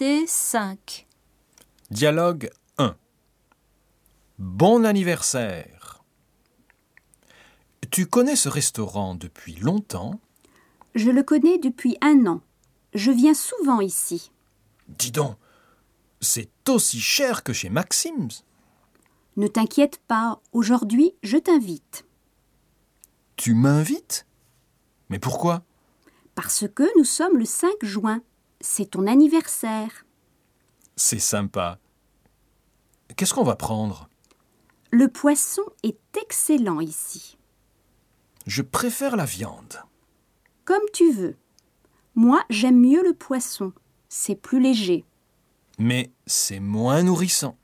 Activité 5. Dialogue 1. Bon anniversaire. Tu connais ce restaurant depuis longtemps? Je le connais depuis 1 an. Je viens souvent ici. Dis donc, c'est aussi cher que chez Maxim's. Ne t'inquiète pas, aujourd'hui, je t'invite. Tu m'invites? Mais pourquoi? Parce que nous sommes le 5 juin. C'est ton anniversaire. C'est sympa. Qu'est-ce qu'on va prendre? Le poisson est excellent ici. Je préfère la viande. Comme tu veux. Moi, j'aime mieux le poisson. C'est plus léger. Mais c'est moins nourrissant.